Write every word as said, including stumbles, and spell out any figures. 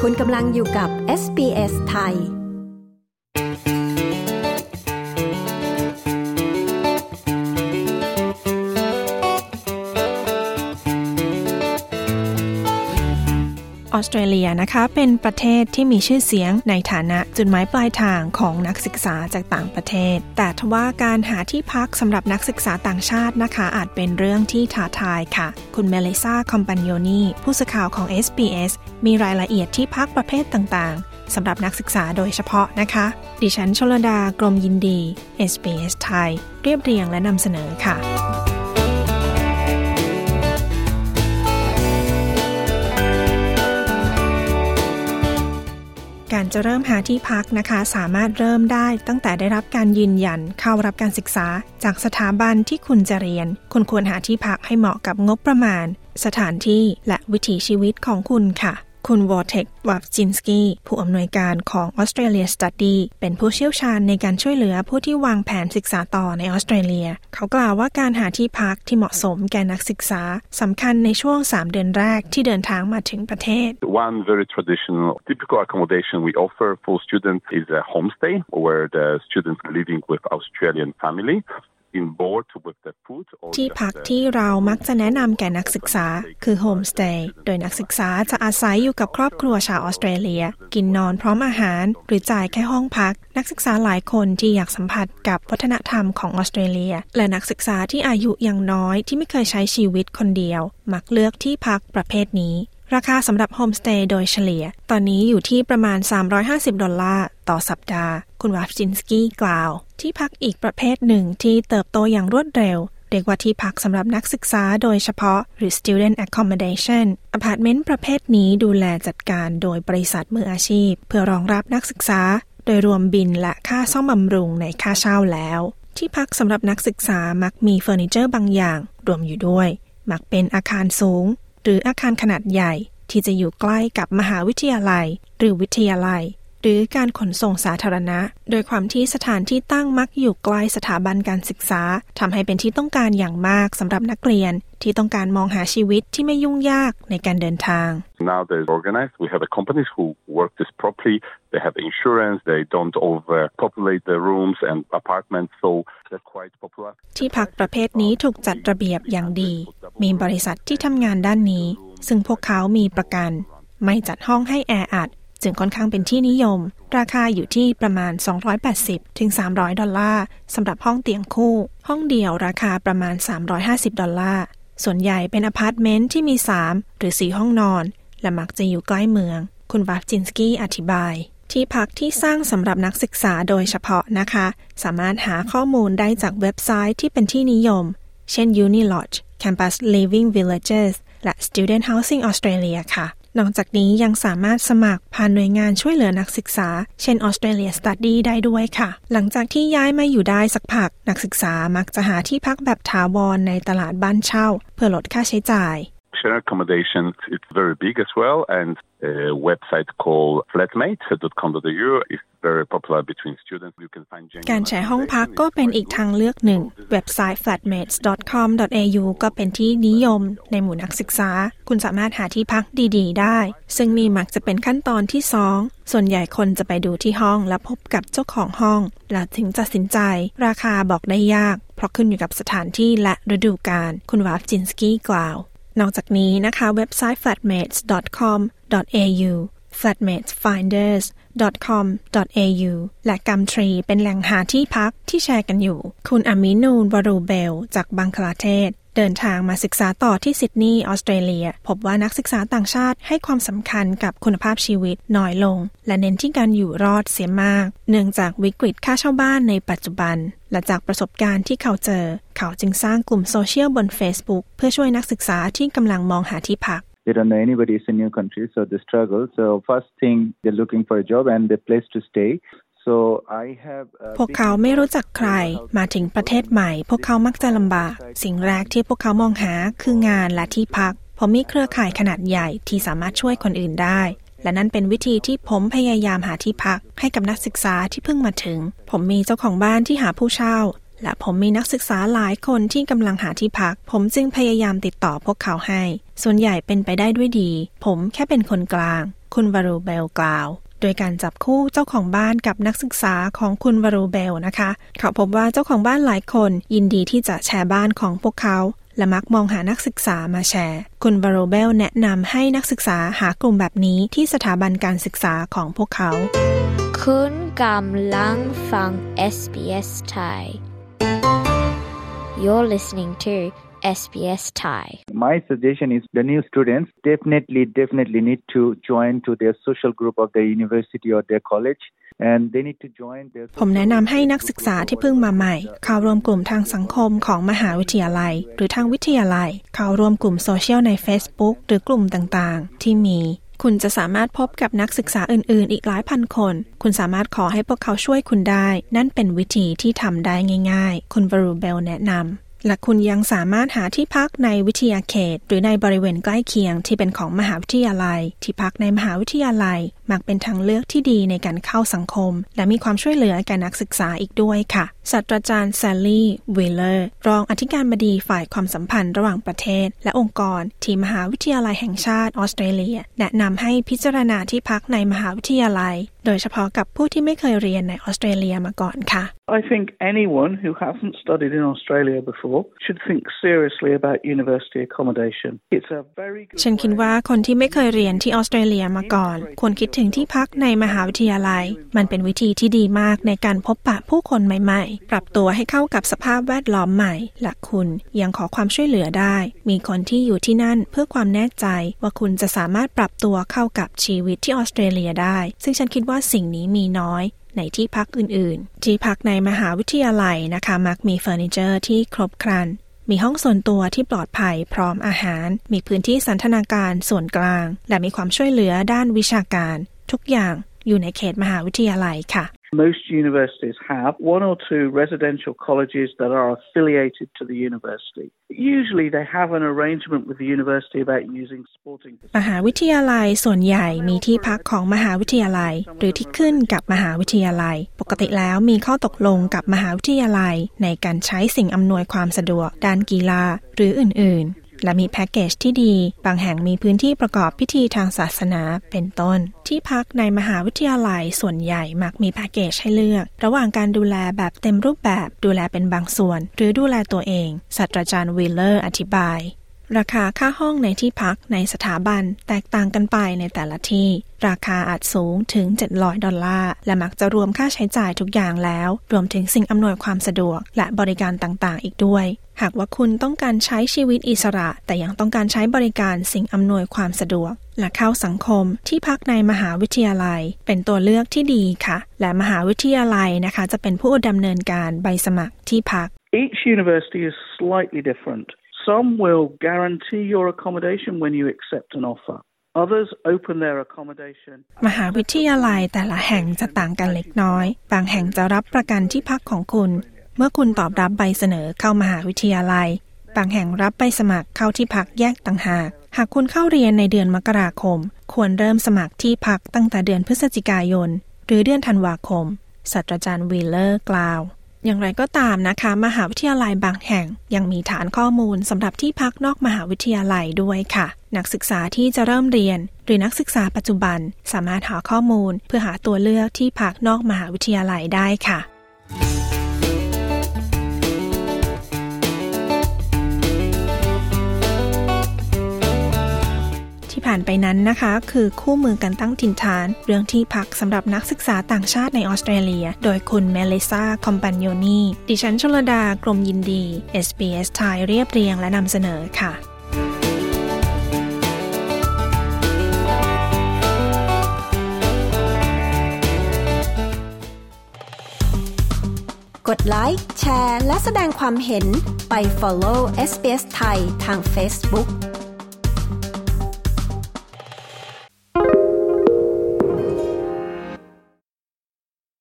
คุณกำลังอยู่กับ เอส บี เอส ไทยออสเตรเลียนะคะเป็นประเทศที่มีชื่อเสียงในฐานะจุดหมายปลายทางของนักศึกษาจากต่างประเทศแต่ทว่าการหาที่พักสำหรับนักศึกษาต่างชาตินะคะอาจเป็นเรื่องที่ท้าทายค่ะคุณเมลิซาคอมปานิโอนีผู้สื่อข่าวของ เอส บี เอส มีรายละเอียดที่พักประเภทต่างๆสำหรับนักศึกษาโดยเฉพาะนะคะดิฉันชลดากรมยินดี เอส บี เอส ไทยเรียบเรียงและนำเสนอค่ะการจะเริ่มหาที่พักนะคะสามารถเริ่มได้ตั้งแต่ได้รับการยืนยันเข้ารับการศึกษาจากสถาบันที่คุณจะเรียนคุณควรหาที่พักให้เหมาะกับงบประมาณสถานที่และวิถีชีวิตของคุณค่ะคุณวอร์เทค วัฟจินสกี้ผู้อำนวยการของ Australia Study เป็นผู้เชี่ยวชาญในการช่วยเหลือผู้ที่วางแผนศึกษาต่อในออสเตรเลียเขากล่าวว่าการหาที่พักที่เหมาะสมแก่นักศึกษาสำคัญในช่วงสามเดือนแรกที่เดินทางมาถึงประเทศ One very traditional typical accommodation we offer for students is a homestay where the students are living with Australian family ที่พักที่เรามักจะแนะนำแก่นักศึกษาคือโฮมสเตย์โดยนักศึกษาจะอาศัยอยู่กับครอบครัวชาวออสเตรเลียกินนอนพร้อมอาหารหรือจ่ายแค่ห้องพักนักศึกษาหลายคนที่อยากสัมผัสกับวัฒนธรรมของออสเตรเลียและนักศึกษาที่อายุยังน้อยที่ไม่เคยใช้ชีวิตคนเดียวมักเลือกที่พักประเภทนี้ราคาสำหรับโฮมสเตย์โดยเฉลี่ยตอนนี้อยู่ที่ประมาณสามร้อยห้าสิบดอลลาร์ต่อสัปดาห์คุณวัฟจินสกี้กล่าวที่พักอีกประเภทหนึ่งที่เติบโตอย่างรวดเร็วเรียกว่าที่พักสำหรับนักศึกษาโดยเฉพาะหรือ student accommodation อพาร์ตเมนต์ประเภทนี้ดูแลจัดการโดยบริษัทมืออาชีพเพื่อรองรับนักศึกษาโดยรวมบินและค่าซ่อมบำรุงในค่าเช่าแล้วที่พักสำหรับนักศึกษามักมีเฟอร์นิเจอร์บางอย่างรวมอยู่ด้วยมักเป็นอาคารสูงหรืออาคารขนาดใหญ่ที่จะอยู่ใกล้กับมหาวิทยาลัยหรือวิทยาลัยหรือการขนส่งสาธารณะโดยความที่สถานที่ตั้งมักอยู่ใกล้สถาบันการศึกษาทำให้เป็นที่ต้องการอย่างมากสำหรับนักเรียนที่ต้องการมองหาชีวิตที่ไม่ยุ่งยากในการเดินทาง Now they're organized. We have companies who work this properly. They have insurance. They don't overpopulate the rooms and apartments, so they're quite popular. ที่พักประเภทนี้ถูกจัดระเบียบอย่างดีมีบริษัทที่ทำงานด้านนี้ซึ่งพวกเขามีประกันไม่จัดห้องให้แออัดจึงค่อนข้างเป็นที่นิยมราคาอยู่ที่ประมาณสองร้อยแปดสิบถึงสามร้อยดอลลาร์สำหรับห้องเตียงคู่ห้องเดี่ยวราคาประมาณสามร้อยห้าสิบดอลลาร์ส่วนใหญ่เป็นอพาร์ตเมนต์ที่มีสามหรือสี่ห้องนอนและมักจะอยู่ใกล้เมืองคุณวัฟจินสกี้อธิบายที่พักที่สร้างสำหรับนักศึกษาโดยเฉพาะนะคะสามารถหาข้อมูลได้จากเว็บไซต์ที่เป็นที่นิยมเช่น Unilodge Campus Living Villages และ Student Housing Australia ค่ะนอกจากนี้ยังสามารถสมัครผ่านหน่วยงานช่วยเหลือนักศึกษาเช่น Australia Study ได้ด้วยค่ะหลังจากที่ย้ายมาอยู่ได้สักพักนักศึกษามักจะหาที่พักแบบถาวรในตลาดบ้านเช่าเพื่อลดค่าใช้จ่าย Shared accommodation it's very big as well and a website called flatmate dot com dot a u is very popular between students you can find การแชร์ห้องพักก็เป็นอีกทางเลือกหนึ่งเว็บไซต์ flatmates dot com dot a u ก็เป็นที่นิยมในหมู่นักศึกษาคุณสามารถหาที่พักดีๆได้ซึ่งนี่มักจะเป็นขั้นตอนที่สองส่วนใหญ่คนจะไปดูที่ห้องและพบกับเจ้าของห้องแล้วถึงตัดสินใจราคาบอกได้ยากเพราะขึ้นอยู่กับสถานที่และฤดูกาลคุณวัฟจินสกี้กล่าวนอกจากนี้นะคะเว็บไซต์ flatmates dot com dot a u flatmates finders dot com dot a u และ Gumtree เป็นแหล่งหาที่พักที่แชร์กันอยู่คุณอามินูนวารูเบลจากบังคลาเทศเดินทางมาศึกษาต่อที่ซิดนีย์ออสเตรเลียพบว่านักศึกษาต่างชาติให้ความสำคัญกับคุณภาพชีวิตน้อยลงและเน้นที่การอยู่รอดเสียมากเนื่องจากวิกฤตค่าเช่าบ้านในปัจจุบันและจากประสบการณ์ที่เขาเจอเขาจึงสร้างกลุ่มโซเชียลบน Facebook เพื่อช่วยนักศึกษาที่กำลังมองหาที่พัก They don't know anybody. It's a new country, so they struggle. So first thing, they're looking for a job and a place to stay. So I have พวกเขาไม่รู้จักใครมาถึงประเทศใหม่พวกเขามักจะลำบากสิ่งแรกที่พวกเขามองหาคืองานและที่พักผมมีเครือข่ายขนาดใหญ่ที่สามารถช่วยคนอื่นได้และนั่นเป็นวิธีที่ผมพยายามหาที่พักให้กับนักศึกษาที่เพิ่งมาถึงผมมีเจ้าของบ้านที่หาผู้เช่าและผมมีนักศึกษาหลายคนที่กำลังหาที่พักผมจึงพยายามติดต่อพวกเขาให้ส่วนใหญ่เป็นไปได้ด้วยดีผมแค่เป็นคนกลางคุณวารูเบลกล่าวโดยการจับคู่เจ้าของบ้านกับนักศึกษาของคุณวารูเบลนะคะเขาพบว่าเจ้าของบ้านหลายคนยินดีที่จะแชร์บ้านของพวกเขาและมักมองหานักศึกษามาแชร์คุณวารูเบลแนะนำให้นักศึกษาหากลุ่มแบบนี้ที่สถาบันการศึกษาของพวกเขาคุณกำลังฟัง เอส บี เอส Thai You're listening to เอส บี เอส Thai My suggestion is the new students definitely definitely need to join to their social group of their university or their college and they need to join their ผมแนะนำให้นักศึกษาที่เพิ่งมาใหม่เข้าร่วมกลุ่มทางสังคมของมหาวิทยาลัยหรือทางวิทยาลัยเข้าร่วมกลุ่มโซเชียลใน Facebook หรือกลุ่มต่างๆที่มีคุณจะสามารถพบกับนักศึกษาอื่นๆอีกหลายพันคนคุณสามารถขอให้พวกเขาช่วยคุณได้นั่นเป็นวิธีที่ทำได้ง่ายๆคุณวารูเบลแนะนำและคุณยังสามารถหาที่พักในวิทยาเขตหรือในบริเวณใกล้เคียงที่เป็นของมหาวิทยาลัยที่พักในมหาวิทยาลัยมักเป็นทางเลือกที่ดีในการเข้าสังคมและมีความช่วยเหลือแก่นักศึกษาอีกด้วยค่ะศาสตราจารย์แซลลี่วิลเลอร์รองอธิการบดีฝ่ายความสัมพันธ์ระหว่างประเทศและองค์กรที่มหาวิทยาลัยแห่งชาติออสเตรเลียแนะนำให้พิจารณาที่พักในมหาวิทยาลัยโดยเฉพาะกับผู้ที่ไม่เคยเรียนในออสเตรเลียมาก่อนค่ะ I think anyone who hasn't studied in Australia before should think seriously about university accommodation. It's a very good ฉันคิดว่าคนที่ไม่เคยเรียนที่ออสเตรเลียมาก่อนควรคิดถึงที่พักในมหาวิทยาลัยมันเป็นวิธีที่ดีมากในการพบปะผู้คนใหม่ๆปรับตัวให้เข้ากับสภาพแวดล้อมใหม่และคุณยังขอความช่วยเหลือได้มีคนที่อยู่ที่นั่นเพื่อความแน่ใจว่าคุณจะสามารถปรับตัวเข้ากับชีวิตที่ออสเตรเลียได้ซึ่งฉันคิดว่าสิ่งนี้มีน้อยในที่พักอื่นๆที่พักในมหาวิทยาลัยนะคะมักมีเฟอร์นิเจอร์ที่ครบครันมีห้องส่วนตัวที่ปลอดภัยพร้อมอาหารมีพื้นที่สันทนาการส่วนกลางและมีความช่วยเหลือด้านวิชาการทุกอย่างอยู่ในเขตมหาวิทยาลัยค่ะ Most universities have one or two residential colleges that are affiliated to the university. Usually they have an arrangement with the university about using sporting มหาวิทยาลัยส่วนใหญ่มีที่พักของมหาวิทยาลัยหรือที่ขึ้นกับมหาวิทยาลัยปกติแล้วมีข้อตกลงกับมหาวิทยาลัยในการใช้สิ่งอำนวยความสะดวกด้านกีฬาหรืออื่นๆและมีแพ็กเกจที่ดีบางแห่งมีพื้นที่ประกอบพิธีทางศาสนาเป็นต้นที่พักในมหาวิทยาลัยส่วนใหญ่มักมีแพ็กเกจให้เลือกระหว่างการดูแลแบบเต็มรูปแบบดูแลเป็นบางส่วนหรือดูแลตัวเองศาสตราจารย์วิลเลอร์อธิบายราคาค่าห้องในที่พักในสถาบันแตกต่างกันไปในแต่ละที่ราคาอาจสูงถึงเจ็ดร้อยดอลลาร์และมักจะรวมค่าใช้จ่ายทุกอย่างแล้วรวมถึงสิ่งอำนวยความสะดวกและบริการต่างๆอีกด้วยหากว่าคุณต้องการใช้ชีวิตอิสระแต่ยังต้องการใช้บริการสิ่งอำนวยความสะดวกและเข้าสังคมที่พักในมหาวิทยาลัยเป็นตัวเลือกที่ดีค่ะและมหาวิทยาลัยนะคะจะเป็นผู้ดำเนินการใบสมัครที่พัก Each university is slightly different.Some will guarantee your accommodation when you accept an offer. Others open their accommodation. มหาวิทยาลัยแต่ละแห่งจะต่างกันเล็กน้อยบางแห่งจะรับประกันที่พักของคุณเมื่อคุณตอบรับใบเสนอเข้ามหาวิทยาลัยบางแห่งรับใบสมัครเข้าที่พักแยกต่างหากหากคุณเข้าเรียนในเดือนมกราคมควรเริ่มสมัครที่พักตั้งแต่เดือนพฤศจิกายนหรือเดือนธันวาคมศาสตราจารย์วิลเลอร์กล่าวอย่างไรก็ตามนะคะมหาวิทยาลัยบางแห่งยังมีฐานข้อมูลสำหรับที่พักนอกมหาวิทยาลัยด้วยค่ะนักศึกษาที่จะเริ่มเรียนหรือนักศึกษาปัจจุบันสามารถหาข้อมูลเพื่อหาตัวเลือกที่พักนอกมหาวิทยาลัยได้ค่ะที่ผ่านไปนั้นนะคะคือคู่มือการตั้งถิ่นฐานเรื่องที่พักสำหรับนักศึกษาต่างชาติในออสเตรเลียโดยคุณเมลิซาคอมปานโยนีดิฉันชลดากรมยินดี เอส บี เอส ไทยเรียบเรียงและนำเสนอค่ะกดไลค์แชร์และแสดงความเห็นไป follow เอส บี เอส ไทยทาง Facebook